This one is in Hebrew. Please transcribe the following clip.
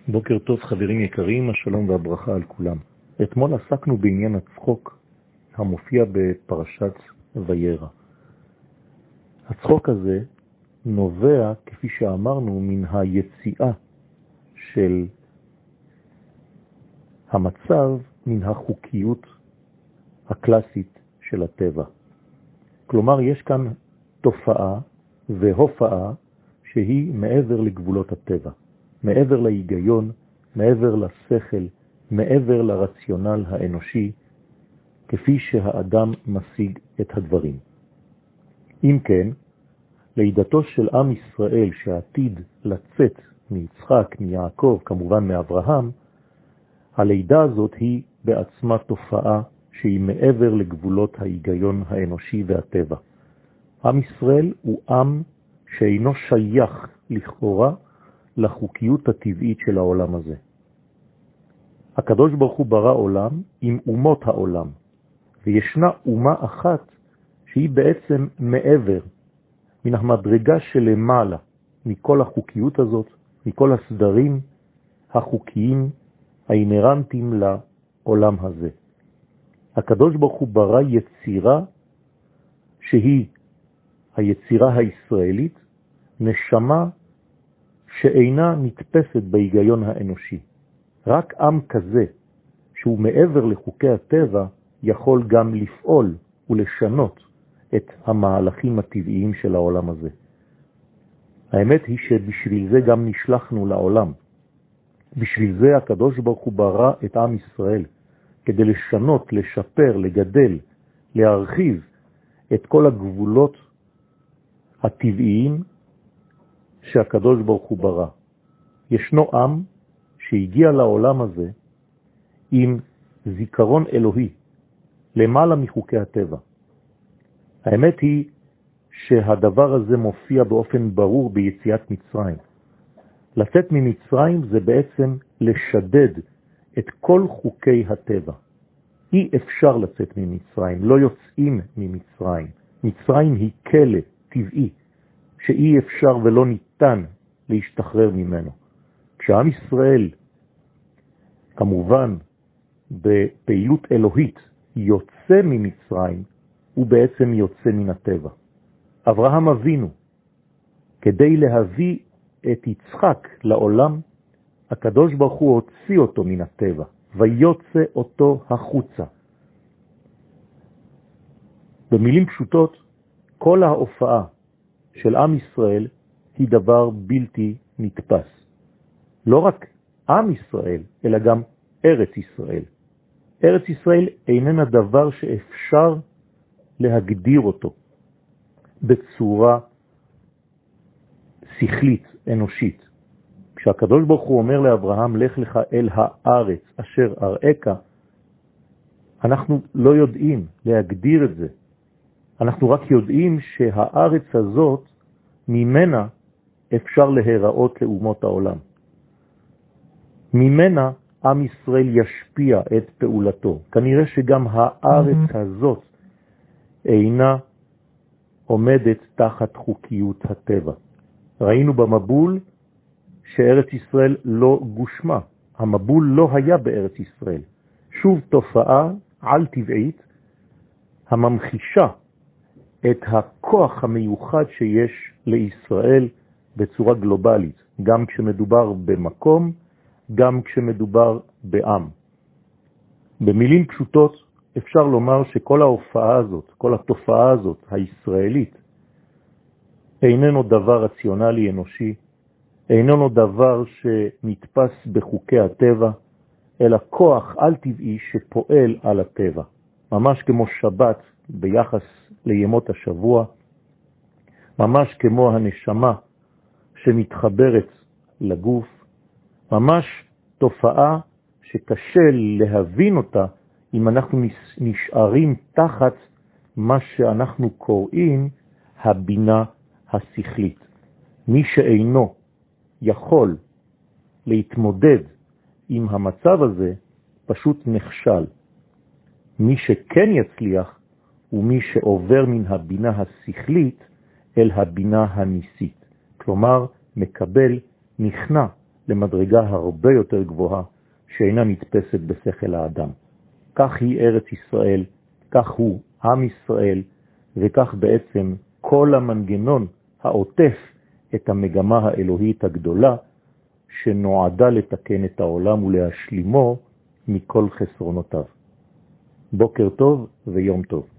בוקר טוב חברים יקרים, השלום והברכה על כולם. אתמול עסקנו בעניין הצחוק המופיע בפרשת וירא. הצחוק הזה נובע, כפי שאמרנו, מן היציאה של המצב מן החוקיות הקלאסית של הטבע. כלומר, יש כאן תופעה והופעה שהיא מעבר לגבולות הטבע. מעבר להיגיון, מעבר לשכל, מעבר לרציונל האנושי, כפי שהאדם משיג את הדברים. אם כן, לידתו של עם ישראל שעתיד לצאת מיצחק, מיעקב, כמובן מאברהם, הלידה הזאת היא בעצמה תופעה שהיא מעבר לגבולות ההיגיון האנושי והטבע. עם ישראל הוא עם שאינו שייך לכאורה לחוקיות הטבעית של העולם הזה. הקדוש ברוך הוא ברא עולם עם אומות העולם, וישנה אומה אחת שהיא בעצם מעבר, מן המדרגה שלמעלה, מכל החוקיות הזאת, מכל הסדרים החוקיים האינרנטיים לעולם הזה. הקדוש ברוך הוא ברא יצירה שהיא היצירה הישראלית, נשמה שאינה נתפסת בהיגיון האנושי. רק עם כזה, שהוא מעבר לחוקי הטבע, יכול גם לפעול ולשנות את המהלכים הטבעיים של העולם הזה. האמת היא שבשביל זה גם נשלחנו לעולם. בשביל זה הקדוש ברוך הוא ברא את עם ישראל, כדי לשנות, לשפר, לגדל, להרחיב את כל הגבולות הטבעיים שהקדוש ברוך הוא ברא. ישנו עם שהגיע לעולם הזה עם זיכרון אלוהי, למעלה מחוקי הטבע. האמת היא שהדבר הזה מופיע באופן ברור ביציאת מצרים. לצאת ממצרים זה בעצם לשדד את כל חוקי הטבע. אי אפשר לצאת ממצרים, לא יוצאים ממצרים. מצרים היא כלא טבעי, שאי אפשר ולא ניתן להשתחרר ממנו. כשעם ישראל, כמובן בפעילות אלוהית, יוצא ממצרים, הוא בעצם יוצא מן הטבע. אברהם אבינו, כדי להביא את יצחק לעולם, הקדוש ברוך הוא הוציא אותו מן הטבע, ויוצא אותו החוצה. במילים פשוטות, כל ההופעה של עם ישראל היא דבר בלתי נתפס. לא רק עם ישראל, אלא גם ארץ ישראל. ארץ ישראל איננה דבר שאפשר להגדיר אותו בצורה שכלית, אנושית. כשהקדוש ברוך הוא אומר לאברהם, לך לך אל הארץ אשר אראך, אנחנו לא יודעים להגדיר את זה. אנחנו רק יודעים שהארץ הזאת, ממנה אפשר להיראות לאומות העולם. ממנה עם ישראל ישפיע את פעולתו. כנראה שגם הארץ הזאת אינה עומדת תחת חוקיות הטבע. ראינו במבול שארץ ישראל לא גושמה. המבול לא היה בארץ ישראל. שוב תופעה על טבעית הממחישה את הכוח המיוחד שיש לישראל בצורה גלובלית, גם כשמדובר במקום, גם כשמדובר בעם. במילים פשוטות אפשר לומר שכל ההופעה הזאת, כל התופעה הזאת הישראלית, איננו דבר רציונלי אנושי, איננו דבר שנתפס בחוקי הטבע, אלא כוח על טבעי שפועל על הטבע. ממש כמו שבת ביחס לימות השבוע, ממש כמו הנשמה שמתחברת לגוף, ממש תופעה שקשה להבין אותה אם אנחנו נשארים תחת מה שאנחנו קוראים הבינה השכלית. מי שאינו יכול להתמודד עם המצב הזה פשוט נכשל. מי שכן יצליח הוא מי שעובר מן הבינה השכלית אל הבינה הניסית. כלומר, מקבל, נכנע למדרגה הרבה יותר גבוהה שאינה נתפסת בשכל האדם. כך היא ארץ ישראל, כך הוא עם ישראל, וכך בעצם כל המנגנון העוטף את המגמה האלוהית הגדולה שנועדה לתקן את העולם ולהשלימו מכל חסרונותיו. בוקר טוב ויום טוב.